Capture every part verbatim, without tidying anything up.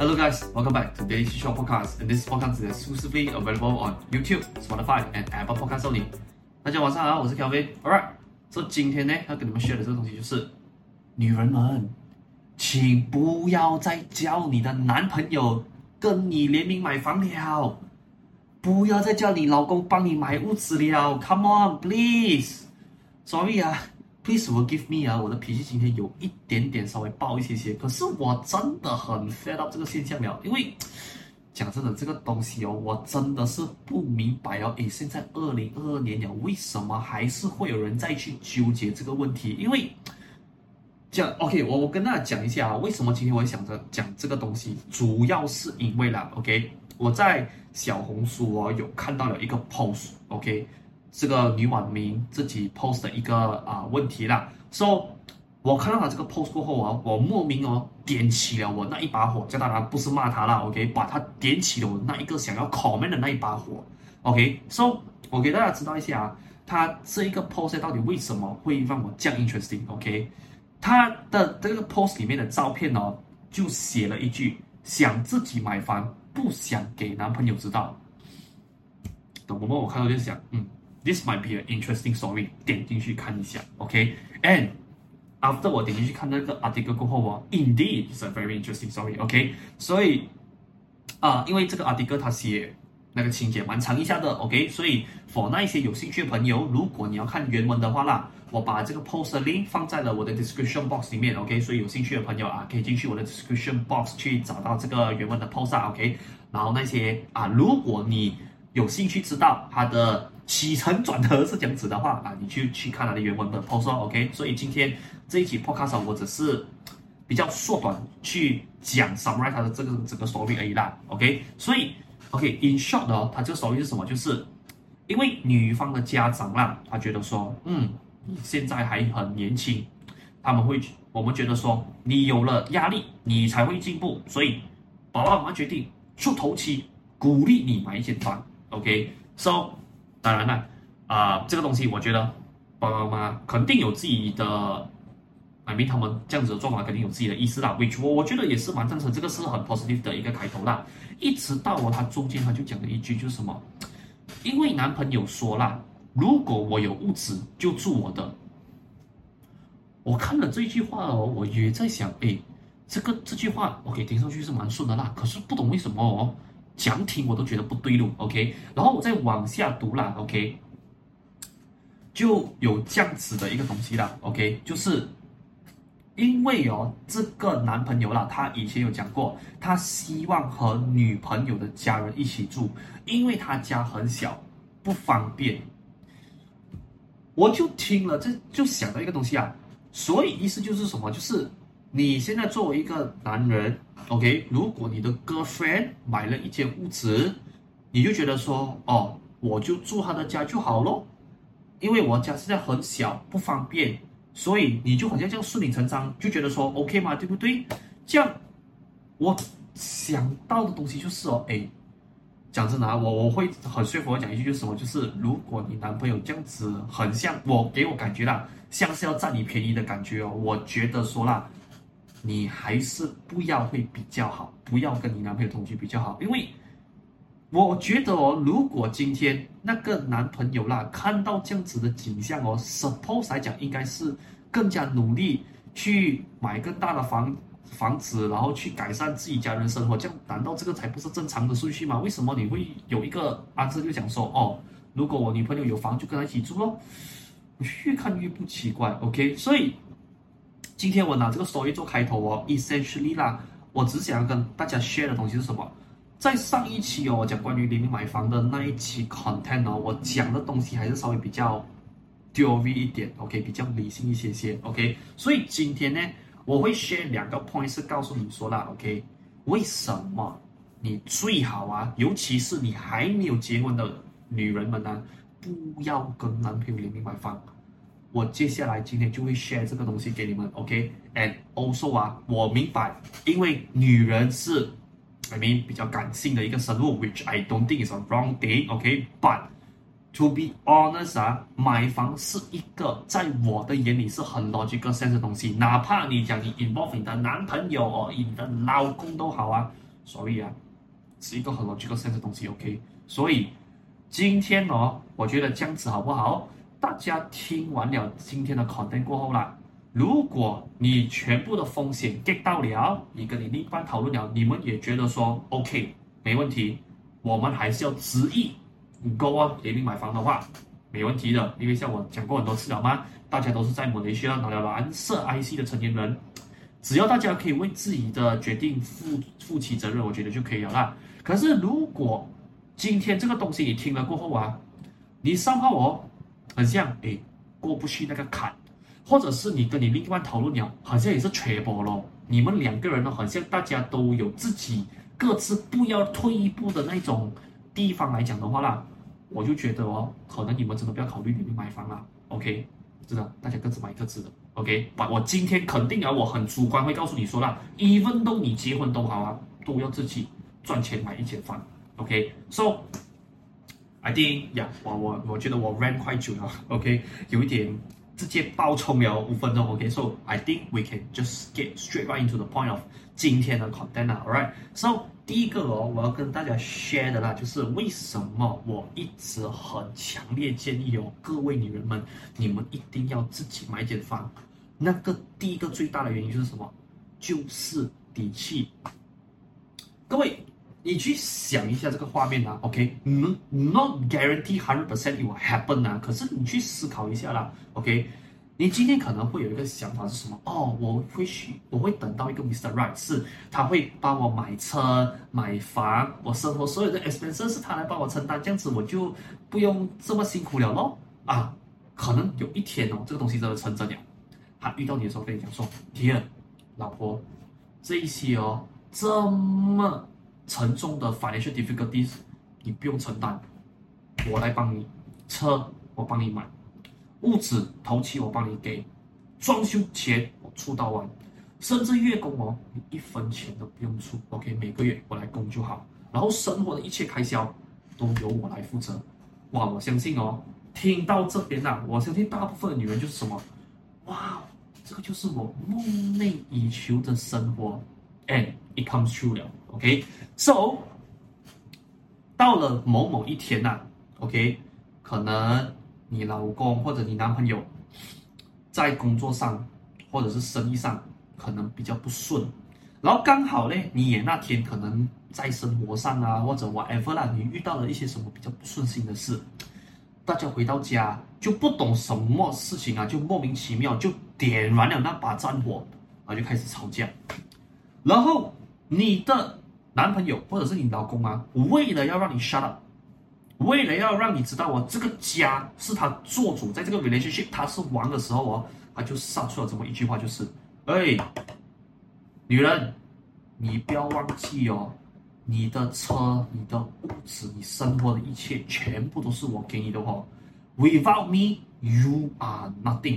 Hello guys, welcome back to Daily Short Podcast, and this podcast is exclusively available on YouTube, Spotify, and Apple Podcasts only. 大家晚上好，我是 Kelvin。Alright， 所以今天呢，要跟你們 share 的這個東西就是，女人們，請不要再叫你的男朋友跟你聯名買房了，不要再叫你老公幫你買屋子了。Come on, please. Sorry 啊。Please forgive me 啊，我的脾氣今天有一點點稍微爆一些些，可是我真的很 fed up 這個現象了，因為講真的這個東西哦，我真的是不明白哦，誒，現在二零二二年了，為什麼還是會有人再去糾結這個問題？因為講 OK， 我我跟大家講一下啊，為什麼今天我會想着講這個東西，主要是因為啦 ，OK， 我在小紅書哦有看到了一個 post，OK。這個女網民自己 post 的一個啊、呃、問題啦 ，so 我看到了這個 post 過後啊，我莫名哦點起了我那一把火，這當然不是罵他啦 ，OK， 把他點起了我那一個想要 comment 的那一把火 ，OK，so 我給大家知道一下啊，他這一個 post 到底為什麼會讓我這樣 interesting，OK， 他的這個 post 裡面的照片哦，就寫了一句想自己買房，不想給男朋友知道。等我們我看到就想，嗯。This might be an interesting story. 點進去看一下 ，OK。And after 我點進去看那個 article 過後哦 ，Indeed, it's a very interesting story. OK。所以啊、呃，因為這個 article 它寫那個情節蠻長一下的 ，OK。所以 for 那一些有興趣的朋友，如果你要看原文的話啦，我把這個 post 的 link 放在了我的 description box 裡面 ，OK。所以有興趣的朋友啊，可以進去我的 description box 去找到這個原文的 post 啊 ，OK。然後那些啊，如果你有興趣知道它的起承轉合是這樣子的話啊，你去去看它的原文的 post 哦 ，OK。所以今天這一期 podcast 我只是比較縮短去講 summarize 它的這個這個 story 而已啦 ，OK。所以 OK，in short 哦，它這個 story 是什麼？就是因為女方的家長啦，他覺得說，嗯，你現在還很年輕，他們會我們覺得說，你有了壓力，你才會進步，所以爸爸媽媽決定出頭期，鼓勵你買一間房 ，OK。So 當然了，啊、呃，這個東西我覺得爸爸媽媽肯定有自己的，I mean 他們這樣子的做法肯定有自己的意思啦 ，which 我我覺得也是蠻贊成，這個是很 positive 的一個開頭啦。一直到我他中間他就講了一句，就是什麼？因為男朋友說啦，如果我有屋子就住我的。我看了這句話哦，我也在想，誒，這個這句話 OK 聽上去是蠻順的啦，可是不懂為什麼哦。講聽我都覺得不對路 ，OK， 然後我再往下讀啦 ，OK， 就有這樣子的一個東西啦 ，OK， 就是因為哦，這個男朋友啦，他以前有講過，他希望和女朋友的家人一起住，因為他家很小，不方便。我就聽了，這就想到一個東西啊，所以意思就是什麼？就是你現在作為一個男人。OK， 如果你的 girlfriend 買了一間屋子，你就覺得說，哦，我就住他的家就好咯，因為我家現在很小，不方便，所以你就好像這樣順理成章，就覺得說 OK 嘛，對不對？這樣我想到的東西就是哦，誒，講真的啊，我我會很說服我講一句就是什麼，就是如果你男朋友這樣子很像我，給我感覺啦，像是要佔你便宜的感覺哦，我覺得說啦。你還是不要會比較好，不要跟你男朋友同居比較好，因為我覺得哦，如果今天那個男朋友啦看到這樣子的景象哦 ，suppose 來講應該是更加努力去買更大的房房子，然後去改善自己家人生活，這樣難道這個才不是正常的順序嗎？為什麼你會有一個answer就講說哦，如果我女朋友有房就跟她一起住咯？我越看越不奇怪 ，OK， 所以。今天我拿這個 story 做開頭哦 ，essentially 啦，我只想要跟大家 share 的東西是什麼？在上一期哦，我講關於聯名買房的那一期 content 哦，我講的東西還是稍微比較 theory 一點 ，OK， 比較理性一些些 ，OK。所以今天呢，我會 share 兩個 point 是告訴你說啦 ，OK， 為什麼你最好啊，尤其是你還沒有結婚的女人們呢、啊，不要跟男朋友聯名買房。我接下來今天就會 share 這個東西給你們 ，OK？And also 啊，我明白，因為女人是 I mean 比較感性的一個生物 ，which I don't think is a wrong thing，OK？But to be honest 啊，買房是一個在我的眼裡是很 logical sense 的東西，哪怕你講你 involve 你的男朋友哦，你的老公都好啊， 所以啊，是一個很 logical sense 的東西 ，OK。所以今天哦，我覺得這樣子好不好？大家聽完了今天的 content 過後啦，如果你全部的風險 get 到了，你跟你另一半討論了，你們也覺得說 OK 沒問題，我們還是要執意 go on 聯名買房的話，沒問題的，因為像我講過很多次了嘛，大家都是在馬來西亞拿了藍色 I C 的成年人，只要大家可以為自己的決定負負起責任，我覺得就可以了啦。可是如果今天這個東西你聽了過後啊，你somehow哦，很像誒過不去那個坎，或者是你跟你另一半討論了，好像也是缺波咯。你們兩個人呢，好像大家都有自己各自不要退一步的那種地方來講的話啦，我就覺得哦，可能你們真的不要考慮聯名買房啦。OK， 真的，大家各自買各自的。OK， 我今天肯定啊，我很主觀會告訴你說啦 ，even though 你結婚都好啊，都要自己賺錢買一間房。OK，so、okay? I think 呀、yeah, 我我我覺得我 rant 快久了 ，OK， 有一點直接爆衝了五分鐘 ，OK，so、okay? I think we can just get straight right into the point of 今天的 content 啊 ，alright，so 第一個哦，我要跟大家 share 的啦，就是為什麼我一直很強烈建議哦，各位女人們，你們一定要自己買一間房。那個第一個最大的原因就是什麼？就是底氣。各位。你去想一下這個畫面啊 ，OK，not、okay? guarantee hundred percent it will happen 啊，可是你去思考一下啦 ，OK， 你今天可能會有一個想法是什麼？哦，我會去，我會等到一個 mister Right， 是他會幫我買車、買房，我生活所有的 expenses 是他來幫我承擔，這樣子我就不用這麼辛苦了咯。啊，可能有一天哦，這個東西真的成真了，他遇到你的時候跟你講說 ，Dear， 老婆，這一些哦，這麼沉重的 financial difficulties， 你不用承擔，我來幫你。車我幫你買，屋子頭期我幫你給，裝修錢我出到完，甚至月供哦，你一分錢都不用出。OK， 每個月我來供就好，然後生活的一切開銷都由我來負責。哇，我相信哦，聽到這邊啊，我相信大部分的女人就是什麼？哇，這個就是我夢寐以求的生活 ，and it comes true 了。OK，so、okay? 到了某某一天吶、啊、，OK， 可能你老公或者你男朋友在工作上或者是生意上可能比較不順，然後剛好呢，你也那天可能在生活上啊或者 whatever 啦，你遇到了一些什麼比較不順心的事，大家回到家就不懂什麼事情啊，就莫名其妙就點燃了那把戰火，然後就開始吵架，然後你的男朋友或者是你老公啊，為了要讓你 shut up， 為了要讓你知道我、哦、這個家是他做主，在這個 relationship 他是王的時候哦，他就殺出了這麼一句話，就是哎，女人，你不要忘記哦，你的車、你的屋子、你生活的一切，全部都是我給你的哦。Without me, you are nothing。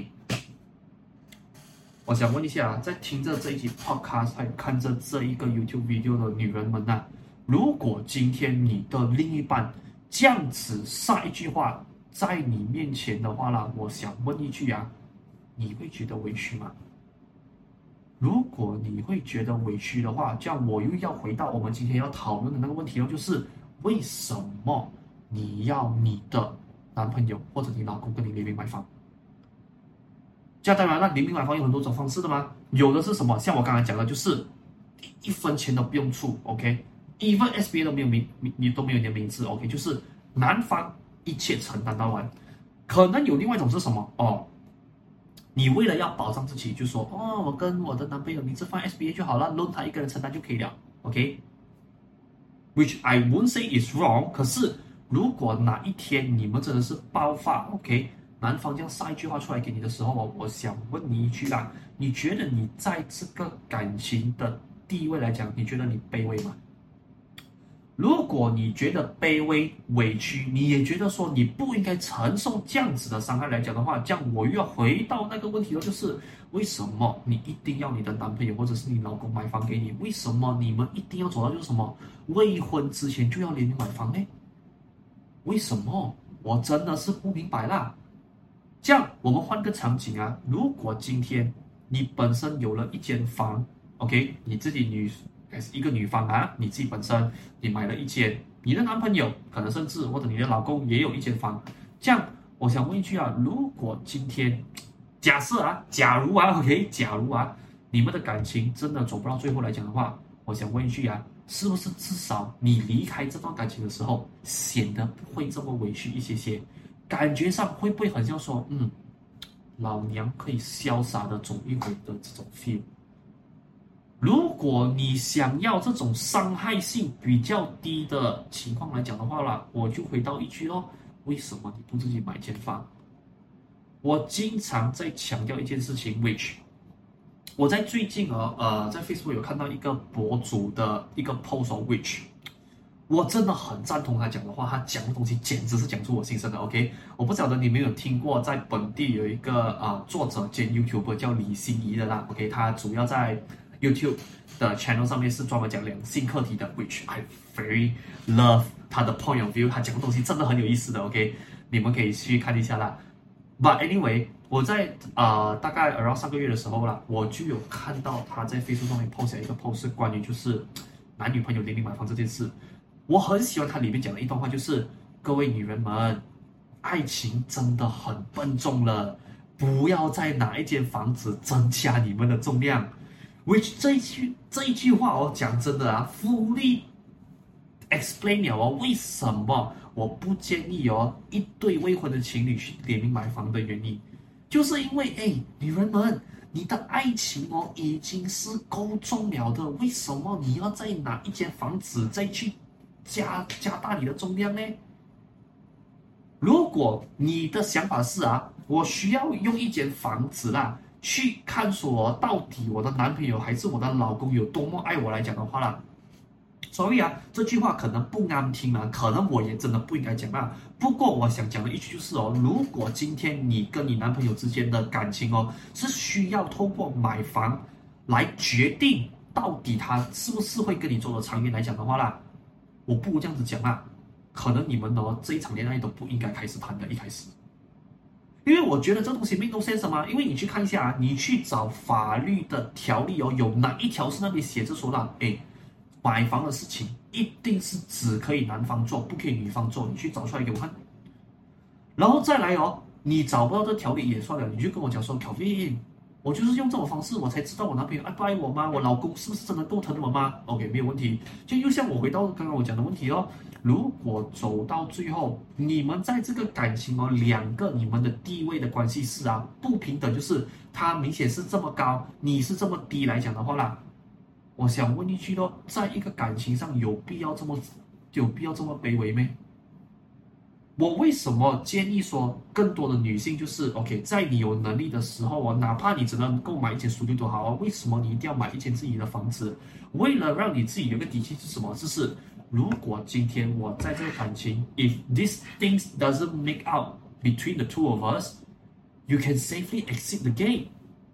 我想問一下，在聽着這一集 podcast 還有看着這一個 YouTube video 的女人們吶、啊，如果今天你的另一半這樣子撒一句話在你面前的話啦，我想問一句啊，你會覺得委屈嗎？如果你會覺得委屈的話，這樣我又要回到我們今天要討論的那個問題了，就是為什麼你要你的男朋友或者你老公跟你聯名買房？這樣當然，那聯名買房有很多種方式的嘛，有的是什麼？像我剛才講的，就是一分錢都不用出 ，OK，even S B A 都沒有名，你都沒有你的名字 ，OK， 就是男方一切承擔到完。可能有另外一種是什麼？哦，你為了要保障自己，就說哦，我跟我的男朋友名字放 S B A 就好了，loan 他一個人承擔就可以了 ，OK。Which I won't say is wrong， 可是如果哪一天你們真的是爆發 ，OK。男方這樣撒一句話出來給你的時候，我想問你一句啦，你覺得你在這個感情的地位來講，你覺得你卑微嗎？如果你覺得卑微、委屈，你也覺得說你不應該承受這樣子的傷害來講的話，這樣我又要回到那個問題了，就是為什麼你一定要你的男朋友或者是你老公買房給你？為什麼你們一定要走到就是什麼未婚之前就要聯名買房呢？為什麼？我真的是不明白啦。這樣，我們換個場景啊，如果今天你本身有了一間房 ，OK， 你自己女一個女方啊，你自己本身你買了一間，你的男朋友可能甚至或者你的老公也有一間房，這樣我想問一句啊，如果今天假設啊，假如啊 ，OK， 假如啊，你們的感情真的走不到最後來講的話，我想問一句啊，是不是至少你離開這段感情的時候，顯得不會這麼委屈一些些？感覺上會不會很像說，嗯，老娘可以瀟灑的走一回的這種 feel？如果你想要這種傷害性比較低的情況來講的話啦，我就回到一句咯，為什麼你不自己買間房？我經常在強調一件事情 ，which 我在最近啊，呃，在 Facebook 有看到一個博主的一個 post of which 我真的很贊同他講的話，他講的東西簡直是講出我心聲的。OK， 我不曉得你們有聽過，在本地有一個啊、呃、作者兼 YouTuber 叫李心怡的啦。OK， 他主要在 YouTube 的 channel 上面是專門講兩性課題的 ，which I very love 他的 point of view， 他講的東西真的很有意思的。OK， 你們可以去看一下啦。But anyway， 我在啊、呃、大概 around 上個月的時候啦，我就有看到他在 Facebook 上面 post 一個 post 是關於就是男女朋友聯名買房這件事。我很喜歡他裡面講的一段話，就是各位女人們，愛情真的很笨重了，不要再拿一間房子增加你們的重量。Which 這一句這一句話哦，講真的啊，fully explain 了哦，為什麼我不建議哦一對未婚的情侶去聯名買房的原因，就是因為哎，女人們，你的愛情哦已經是夠重了的，為什麼你要再拿一間房子再去加加大你的重量呢？如果你的想法是啊，我需要用一間房子啦，去看說到底我的男朋友還是我的老公有多麼愛我來講的話啦，所以啊，這句話可能不啱聽啊，可能我也真的不應該講啊。不過我想講的一句就是哦，如果今天你跟你男朋友之間的感情哦，是需要透過買房來決定到底他是不是會跟你走得長遠來講的話啦，我不如這樣子講啊，可能你們哦這一場戀愛都不應該開始談的，一開始。因為我覺得這東西 make no sense 嘛，因為你去看一下啊，你去找法律的條例哦，有哪一條是那裡寫着說啦，誒，買房的事情一定是只可以男方做，不可以女方做，你去找出來給我看。然後再來哦，你找不到這條例也算了，你就跟我講說 ，Kelvin， 我就是用這種方式，我才知道我男朋友愛不愛我嗎？我老公是不是真的夠疼我嗎 ？OK， 沒有問題。就又像我回到剛剛我講的問題哦。如果走到最後，你們在這個感情哦，兩個你們的地位的關係是啊不平等，就是他明顯是這麼高，你是這麼低來講的話啦，我想問一句咯，在一個感情上有必要這麼有必要這麼卑微嗎？我為什麼建議說更多的女性就是 OK， 在你有能力的時候哦，哪怕你只能夠買一間書店都好啊，為什麼你一定要買一間自己的房子？為了讓你自己有個底氣是什麼？就是如果今天我在這個感情 ，if these things doesn't make out between the two of us, you can safely exit the game。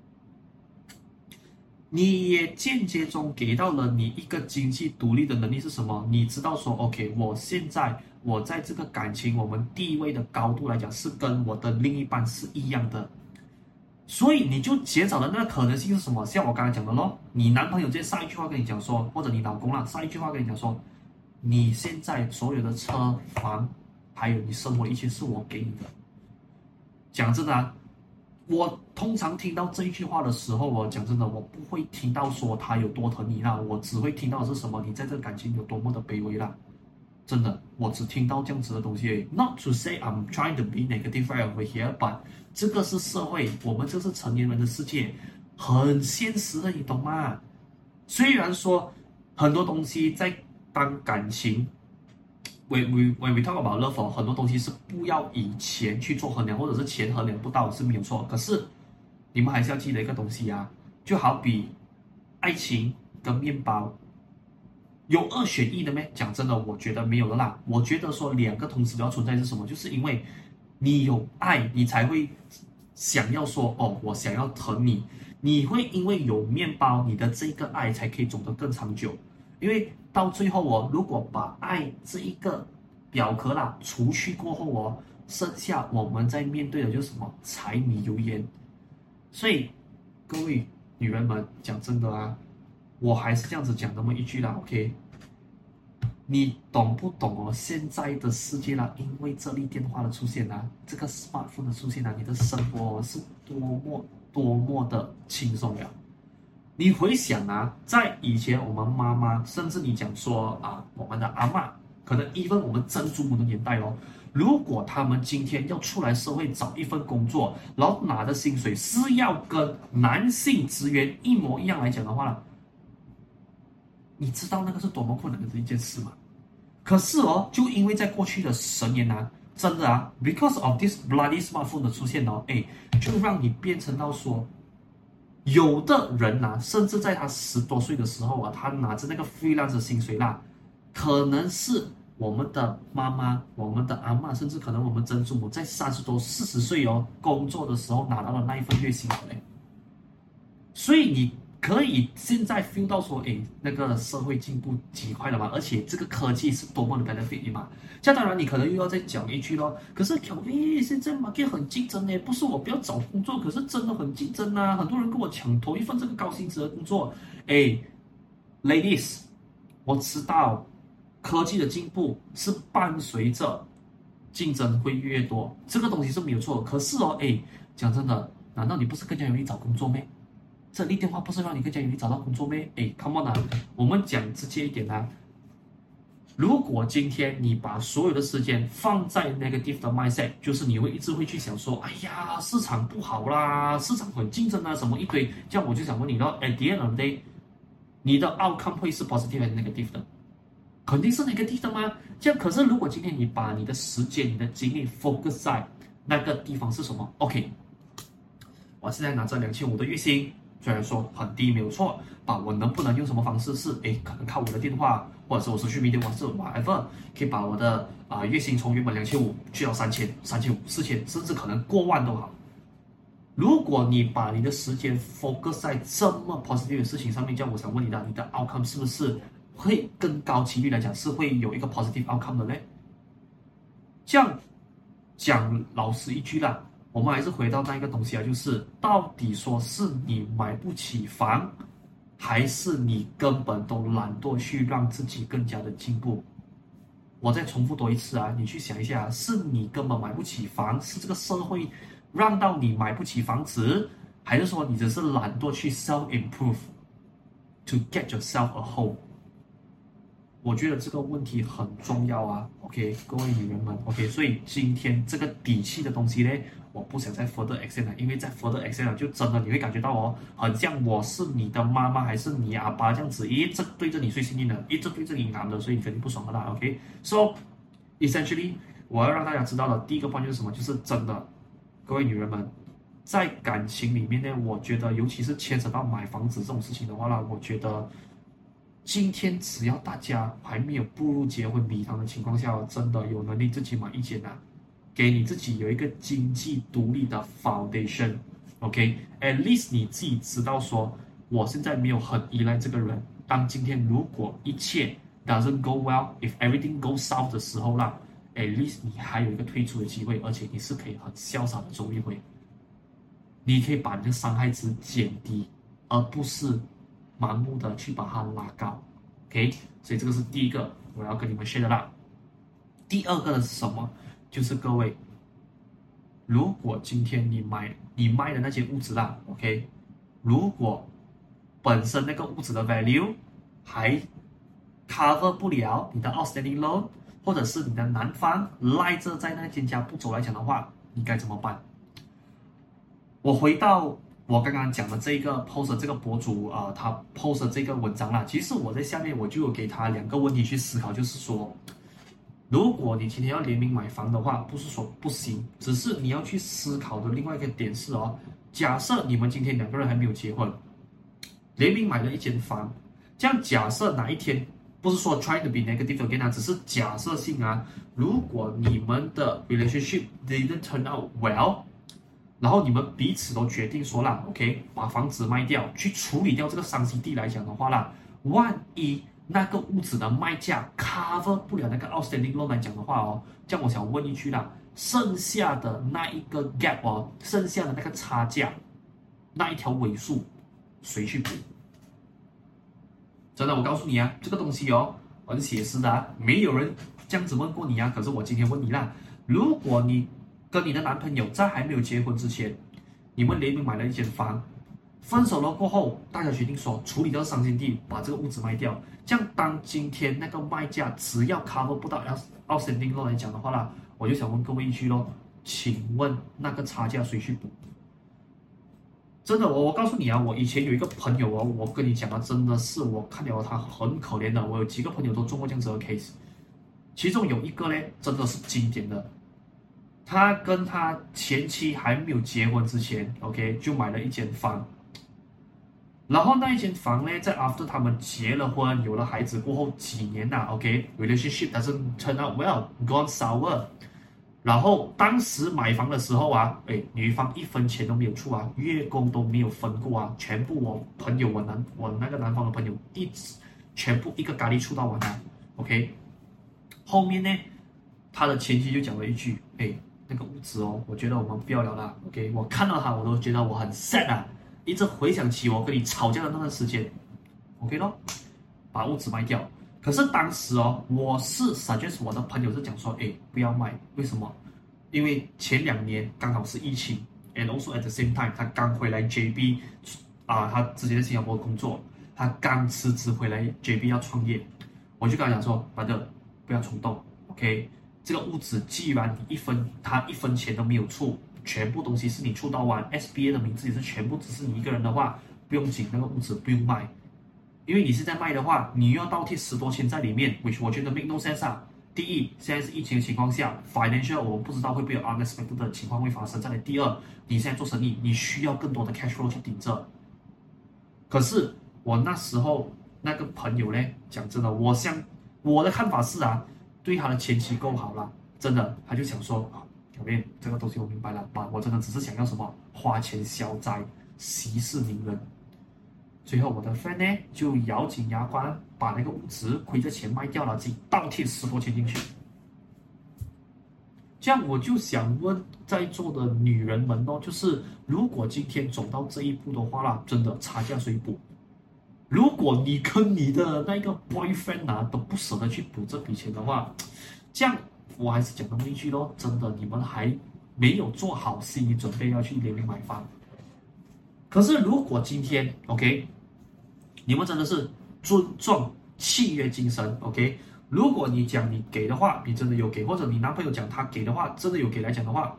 你也間接中給到了你一個經濟獨立的能力是什麼？你知道說 ，OK， 我現在我在這個感情我們地位的高度來講是跟我的另一半是一樣的，所以你就減少了那個可能性是什麼？像我剛才講的咯，你男朋友直接上一句話跟你講說，或者你老公啦上一句話跟你講說，你現在所有的車房還有你生活的一切是我給你的。講真的啊，我通常聽到這一句話的時候，我講真的，我不會聽到說他有多疼你啦，我只會聽到的是什麼？你在這個感情有多麼的卑微啦。真的，我只聽到這樣子的東西而已。Not to say I'm trying to be negative right over here, but 這個是社會，我們這是成年人的世界，很現實的，你懂嗎？雖然說很多東西在當感情 ，when we when we talk about love， 很多東西是不要以錢去做衡量，或者是錢衡量不到是沒有錯。可是你們還是要記得一個東西啊，就好比愛情跟麵包。有二選一的咩？講真的，我覺得沒有的啦。我覺得說兩個同時都要存在是什麼？就是因為你有愛，你才會想要說哦，我想要疼你。你會因為有麵包，你的這個愛才可以走得更長久。因為到最後哦，如果把愛這一個表殼啦除去過後哦，剩下我們在面對的就是什麼？柴米油鹽。所以各位女人們，講真的啊。 我還是這樣子講那麼一句啦 ，OK？ 你懂不懂哦？現在的世界啦，因為這類電話的出現啊，這個 smartphone 的出現啊，你的生活、哦、是多麼多麼的輕鬆了。你回想啊，在以前我們媽媽，甚至你講說啊，我們的阿嬤，可能 even 我們曾祖母的年代哦，如果他們今天要出來社會找一份工作，然後拿的薪水是要跟男性職員一模一樣來講的話呢，你知道那個是多麼困難的一件事嗎？可是哦，就因為在過去的十年啊，真的啊 ，because of this bloody smartphone 的出現哦，哎，就讓你變成到說，有的人啊，甚至在他十多歲的時候啊，他拿着那個 freelance 的薪水啦，可能是我們的媽媽、我們的阿嬤，甚至可能我們曾祖母在三十多、四十歲哦工作的時候拿到了那一份月薪嘞。所以你可以現在 feel 到說，誒，那個社會進步極快了嘛，而且這個科技是多麼的 benefit 嘛。這樣當然你可能又要再講一句咯，可是 Kelvin 現在 market 很競爭呢，不是我不要找工作，可是真的很競爭啊，很多人跟我搶頭一份這個高薪資的工作。誒 ，ladies， 我知道科技的進步是伴隨着競爭會越多，這個東西是沒有錯的。可是哦，誒，講真的，難道你不是更加容易找工作嗎？這類電話不是讓你更加容易找到工作嗎？誒 ，come on 啊，我們講直接一點啊。如果今天你把所有的時間放在 negative 的 mindset， 就是你會一直會去想說，哎呀，市場不好啦，市場很競爭啊，什麼一堆，這樣我就想問你咯 ，at the end of the day， 你的 outcome 會是 positive 還是 negative 的？肯定是 negative 的嗎？這樣，可是如果今天你把你的時間、你的精力 focus 在那個地方是什麼 ？OK， 我現在拿着兩千五的月薪。雖然說很低沒有錯，把我能不能用什麼方式是誒，可能靠我的電話，或者是我社區媒體，或者是 whatever， 可以把我的啊、呃、月薪從原本兩千五去到三千、三千五、四千，甚至可能過萬都好。如果你把你的時間 focus 在這麼 positive 的事情上面，這樣我想問你的，你的 outcome 是不是會更高幾率來講是會有一個 positive outcome 的呢？這樣講老實一句啦。我們還是回到那一個東西啊，就是到底說是你買不起房，還是你根本都懶惰去讓自己更加的進步？我再重複多一次啊，你去想一下，是你根本買不起房，是這個社會讓到你買不起房子，還是說你只是懶惰去 self improve to get yourself a home？我覺得這個問題很重要啊 ，OK， 各位女人們 ，OK， 所以今天這個底氣的東西呢，我不想再 further extend 了，因為在 further extend 了，就真的你會感覺到哦，很像我是你的媽媽還是你阿爸這樣子，一直對着你碎心硬的，一直對着你硬的，所以你肯定不爽的啦 ，OK，so essentially 我要讓大家知道的第一個 point 就是什麼，就是真的，各位女人們，在感情裡面呢，我覺得尤其是牽扯到買房子這種事情的話呢，我覺得。今天只要大家還沒有步入結婚禮堂的情況下，真的有能力自己買一間啊，給你自己有一個經濟獨立的 foundation，OK，at least 你自己知道說，我現在沒有很依賴這個人。當今天如果一切 doesn't go well，if everything goes south 的時候啦 ，at least 你還有一個退出的機會，而且你是可以很瀟灑的走一回，你可以把你的傷害值減低，而不是。盲目的去把它拉高 ，OK， 所以這個是第一個我要跟你們 share 的啦。第二個的是什麼？就是各位，如果今天你買你賣的那間屋子啦 ，OK， 如果本身那個屋子的 value 還 cover 不了你的 outstanding loan， 或者是你的男方賴着在那間家不走來講的話，你該怎麼辦？我回到。我剛剛講的這個 post 這個博主啊、呃，他 post 這個文章啦，其實我在下面我就有給他兩個問題去思考，就是說，如果你今天要聯名買房的話，不是說不行，只是你要去思考的另外一個點是哦，假設你們今天兩個人還沒有結婚，聯名買了一間房，這樣假設哪一天，不是說 try to be negative again 啊，只是假設性啊，如果你們的 relationship didn't turn out well。然後你們彼此都決定說啦 ，OK， 把房子賣掉，去處理掉這個傷心地來講的話啦，萬一那個屋子的賣價 cover 不了那個 outstanding loan 來講的話哦，這樣我想問一句啦，剩下的那一個 gap 哦，剩下的那個差價，那一條尾數，誰去補？ 真的，我告訴你啊，這個東西哦，很寫實的啊，沒有人這樣子問過你啊。可是我今天問你啦，如果你跟你的男朋友在還沒有結婚之前，你們聯名買了一間房，分手了過後，大家決定說處理掉傷心地，把這個屋子賣掉。這樣當今天那個賣價只要 cover 不到 outstanding loan 來講的話啦，我就想問各位一句咯，請問那個差價誰去補？真的，我我告訴你啊，我以前有一個朋友哦，我跟你講啊，真的是我看了他很可憐的。我有幾個朋友都中過這樣子的 case， 其中有一個呢，真的是經典的。他跟他前妻還沒有結婚之前 ，OK， 就買了一間房。然後那一間房呢，在 after 他們結了婚，有了孩子過後幾年吶 ，OK，relationship doesn't turn out well，gone sour。然後當時買房的時候啊，哎，女方一分錢都沒有出啊，月供都沒有分過啊，全部我朋友我男我那個男方的朋友一直全部一個咖喱出到完啊 ，OK。後面呢，他的前妻就講了一句，哎，那個屋子哦，我覺得我們不要了啦 ，OK。我看到他我都覺得我很 sad 啊，一直回想起我跟你吵架的那段時間 ，OK 咯，把屋子賣掉。可是當時哦，我是 suggest 我的朋友是講說，哎，不要賣，為什麼？因為前兩年剛好是疫情 ，and also at the same time， 他剛回來 J B， 啊，他之前在新加坡工作，他剛辭職回來 J B 要創業，我就跟他講說，爸的，不要衝動 ，OK， 這個屋子既然你一分，他一分錢都沒有出，全部東西是你出到完 ，S B A 的名字也是全部只是你一個人的話，不用緊，那個屋子不用賣。因為你是在賣的話，你又要倒貼十多千在裡面 ，which 我覺得 make no sense 啊。第一，現在是疫情的情況下 ，financial 我們不知道會不會有 unexpected 的情況會發生。再來，第二，你現在做生意，你需要更多的 cash flow 去頂着。可是我那時候那個朋友呢，講真的，我想我的看法是啊，對他的前妻夠好了，真的，他就想說啊，表面這個東西我明白了吧，我真的只是想要什麼花錢消災，息事寧人。最後我的 friend 呢就咬緊牙關把那個屋子虧着錢賣掉了，自己倒貼十多千進去。這樣我就想問在座的女人們哦，就是如果今天走到這一步的話啦，真的差價誰補？如果你跟你的那個 boyfriend 啊都不捨得去補這筆錢的話，這樣我還是講那麼一句咯，真的你們還沒有做好心理準備要去聯名買房。可是如果今天 OK， 你們真的是尊重契約精神 OK， 如果你講你給的話，你真的有給，或者你男朋友講他給的話，真的有給來講的話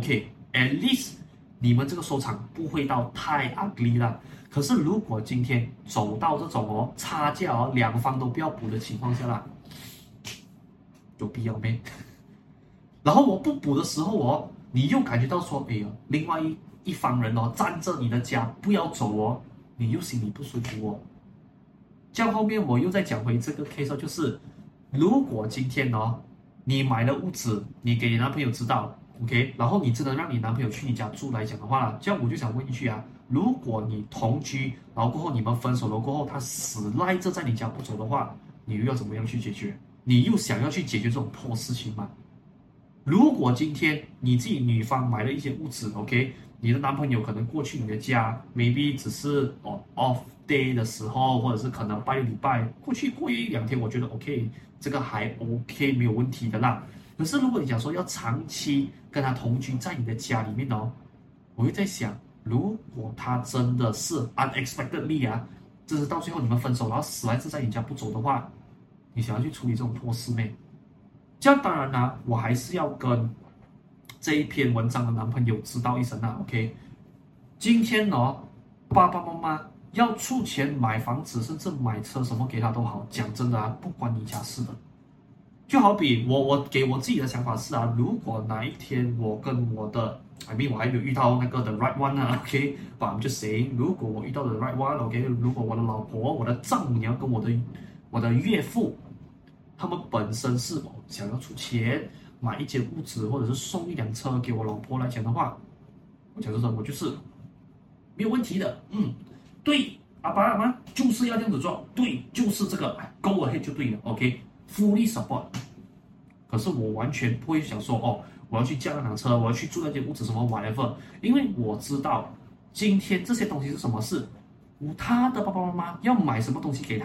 OK，at least 你們這個收場不會到太 ugly 了。可是如果今天走到這種哦差價哦兩方都不要補的情況下啦，有必要沒？然後我不補的時候哦，你又感覺到說，哎呦，另外一一方人哦站着你的家不要走哦，你又心裡不舒服哦。這樣後面我又再講回這個 case 就是，如果今天哦你買了屋子，你給你男朋友知道 ，OK， 然後你真的讓你男朋友去你家住來講的話，這樣我就想問一句啊，如果你同居，然後過後你們分手了過後，他死賴着在你家不走的話，你又要怎麼樣去解決？你又想要去解決這種破事情嗎？如果今天你自己女方買了一間屋子 ，OK， 你的男朋友可能過去你的家 ，maybe 只是哦 off day 的時候，或者是可能拜禮拜過去過一兩天，我覺得 OK， 這個還 OK 沒有問題的啦。可是如果你講說要長期跟他同居在你的家裡面哦，我會在想，如果他真的是 unexpectedly 啊，就是到最後你們分手，然後死賴着在你家不走的話，你想要去處理這種破事沒？這樣當然啦、啊，我還是要跟這一篇文章的男朋友知道一聲啦 ，OK？ 今天哦，爸爸媽媽要出錢買房子，甚至買車什麼給他都好，講真的啊，不關你家事的。就好比我，我給我自己的想法是啊，如果哪一天我跟我的 I mean 我還沒有遇到那個 the right one 啊 ，OK？But I'm just saying，如果我遇到 the right one，OK？、Okay? 如果我的老婆、我的丈母娘跟我的我的岳父，他們本身是想要出錢買一間屋子，或者是送一輛車給我老婆來講的話，我講真的，我就是沒有問題的。嗯，對，阿爸阿媽就是要這樣子做，對，就是這個 go ahead 就對了 ，OK，fully support。可是我完全不會想說，哦，我要去駕那輛車，我要去住那間屋子什麼 whatever，因為我知道今天這些東西是什麼事，他的爸爸媽媽要買什麼東西給他。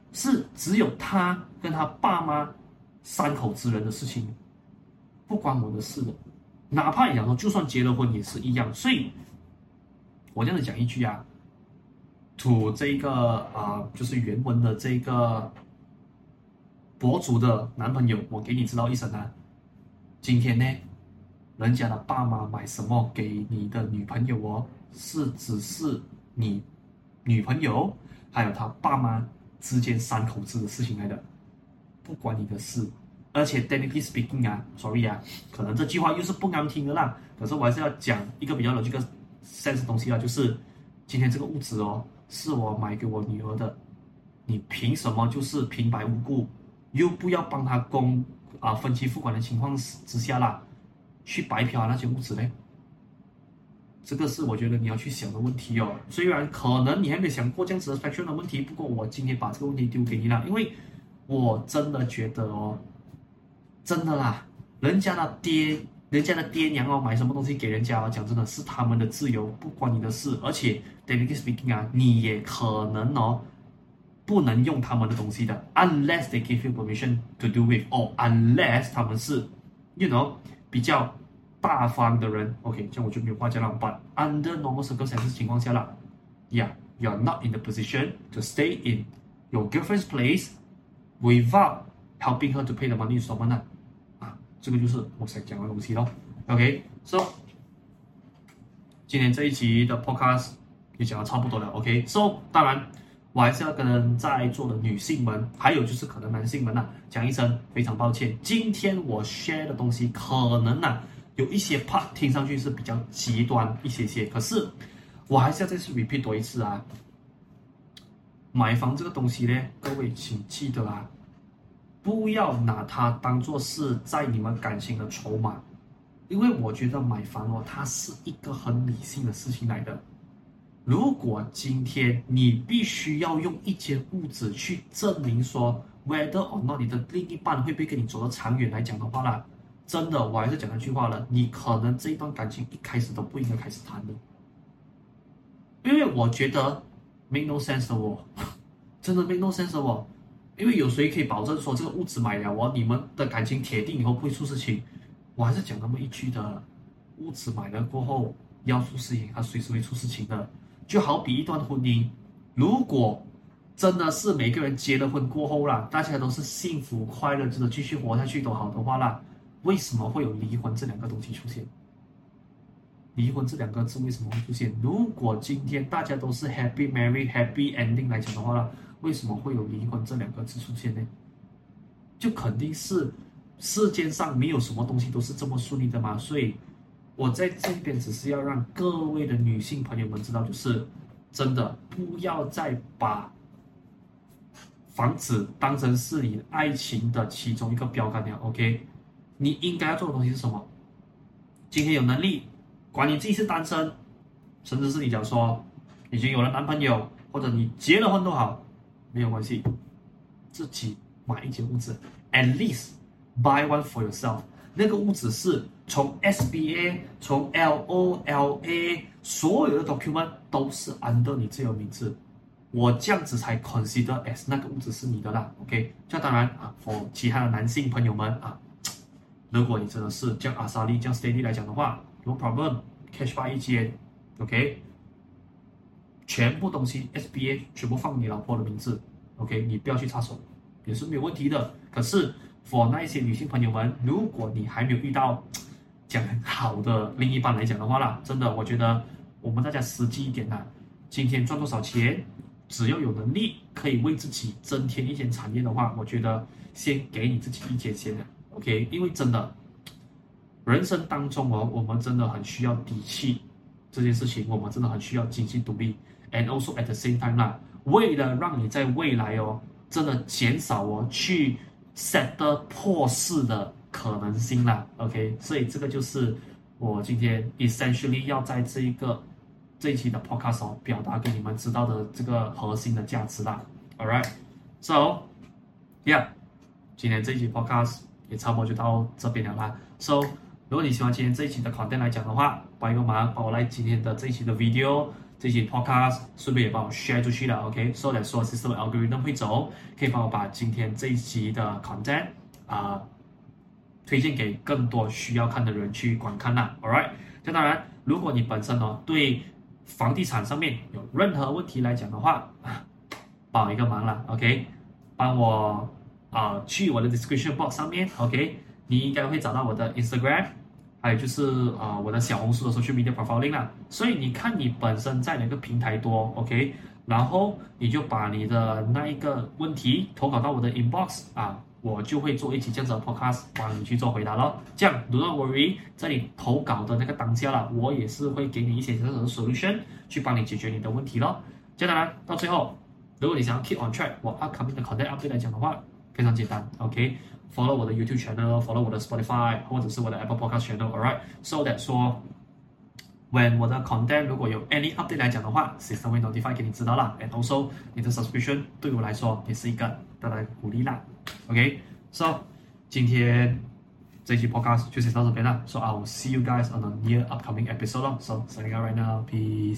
是只有他跟他爸媽三口之人的事情，不關我的事的。哪怕你講說，就算結了婚也是一樣。所以，我這樣子講一句啊，to 這個啊、呃，就是原文的這個博主的男朋友，我給你知道一聲啊，今天呢，人家的爸媽買什麼給你的女朋友哦，是只是你女朋友還有他爸媽之間三口子的事情來的，不關你的事。而且 technically speaking 啊 ，sorry 啊，可能這句話又是不難聽的啦，可是我還是要講一個比較有這個 sense 的東西啦，就是今天這個屋子哦，是我買給我女兒的，你憑什麼就是平白無故，又不要幫他供啊分期付款的情況之下啦，去白嫖那些屋子呢？這個是我覺得你要去想的問題哦。雖然可能你還沒想過這樣子的 spectrum 的問題，不過我今天把這個問題丟給你了，因為我真的覺得哦。真的啦，人家的爹，人家的爹娘哦，買什麼東西給人家哦，講真的是他們的自由，不關你的事。而且 technically speaking 啊，你也可能哦，不能用他們的東西的 ，unless they give you permission to do with，or unless 他們是 ，you know 比較大方的人。OK， 這樣我就沒有話講了。But under normal circumstances 情況下啦 ，yeah， you are not in the position to stay in your girlfriend's place without helping her to pay the money installment 啊。這個就是我想講的東西咯。OK，so、okay? 今天這一集的 podcast 也講的差不多了。OK，so、okay? 當然我還是要跟在座的女性們，還有就是可能男性們吶、啊，講一聲非常抱歉。今天我 share 的東西可能啊有一些 part 聽上去是比較極端一些些，可是我還是要再次 repeat 多一次啊。買房這個東西呢，各位請記得啊。不要拿它當作是在你們感情的籌碼，因為我覺得買房哦，它是一個很理性的事情來的。如果今天你必須要用一間屋子去證明說 whether or not 你的另一半會不會跟你走得長遠來講的話啦，真的我還是講那句話了，你可能這一段感情一開始都不應該開始談的，因為我覺得 make no sense 的哦，真的 make no sense 的哦。因為有誰可以保證說這個屋子買了哦，你們的感情鐵定以後不會出事情？我還是講那麼一句的，屋子買了過後要出事情，它隨時會出事情的。就好比一段婚姻，如果真的是每個人結了婚過後啦，大家都是幸福快樂，真的繼續活下去都好的話啦，為什麼會有離婚這兩個東西出現？離婚這兩個字為什麼會出現？如果今天大家都是 happy married happy ending 來講的話啦，為什麼會有離婚這兩個字出現呢？就肯定是世界上沒有什麼東西都是這麼順利的嘛。所以我在這邊只是要讓各位的女性朋友們知道，就是真的不要再把房子當成是你愛情的其中一個標杆了。OK， 你應該要做的東西是什麼？今天有能力，管你自己是單身，甚至是你講說已經有了男朋友，或者你結了婚都好。沒有關係，自己買一間屋子 ，at least buy one for yourself。那個屋子是從 S B A、從 L O L A 所有的 document 都是 under 你自己的名字，我這樣子才 consider as 那個屋子是你的啦。OK， 這當然啊 ，for 其他的男性朋友們啊，如果你真的是這樣阿莎莉這樣 steady 來講的話 ，no problem，cash buy 一間 ，OK。全部東西 S B A 全部放你老婆的名字 ，OK， 你不要去插手，也是沒有問題的。可是 for 那一些女性朋友們，如果你還沒有遇到這樣好的另一半來講的話啦，真的，我覺得我們大家實際一點啦，今天賺多少錢，只要有能力可以為自己增添一間產業的話，我覺得先給你自己一間先 ，OK， 因為真的人生當中哦，我們真的很需要底氣這件事情，我們真的很需要經濟獨立。And also at the same time 啦，為了讓你在未來哦，真的減少哦去 settle 破事的可能性啦 ，OK， 所以這個就是我今天 essentially 要在這一個這一期的 podcast 哦表達給你們知道的這個核心的價值啦 ，Alright，so yeah， 今天這一期 podcast 也差不多就到這邊了啦 ，so 如果你喜歡今天這一期的 content 來講的話，幫一個忙，幫我來今天的這一期的 video 這期 podcast 順便也幫我 share 出去了 ，OK，so that 說 system algorithm 會走，可以幫我把今天這一期的 content 啊、呃、推薦給更多需要看的人去觀看啦 ，alright。那當然，如果你本身哦對房地產上面有任何問題來講的話，幫我一個忙啦 ，OK， 幫我啊、呃、去我的 description box 上面 ，OK， 你應該會找到我的 Instagram。還有就是啊、呃，我的小紅書的 social media profiling 啦，所以你看你本身在哪個平台多 ，OK， 然後你就把你的那一個問題投稿到我的 inbox 啊，我就會做一期這樣子的 podcast 幫你去做回答咯。這樣 do not worry， 在你投稿的那個當下啦，我也是會給你一些這樣的 solution 去幫你解決你的問題咯。這樣當然到最後，如果你想要 keep on track 我 upcoming 的 content update 來講的話，非常簡單 ，OK。Follow 我的 YouTube channel，follow 我的 Spotify 或者是我的 Apple Podcast channel，alright，so that 說 when 我的 content 如果有 any update 來講的話 ，system 會 notify 給你知道啦。And also 你的 subscription 對我來說也是一個大大的鼓勵啦。OK，so 今天這一期 podcast 就先到這邊啦。So I will see you guys on the near upcoming episode. So signing out right now, peace.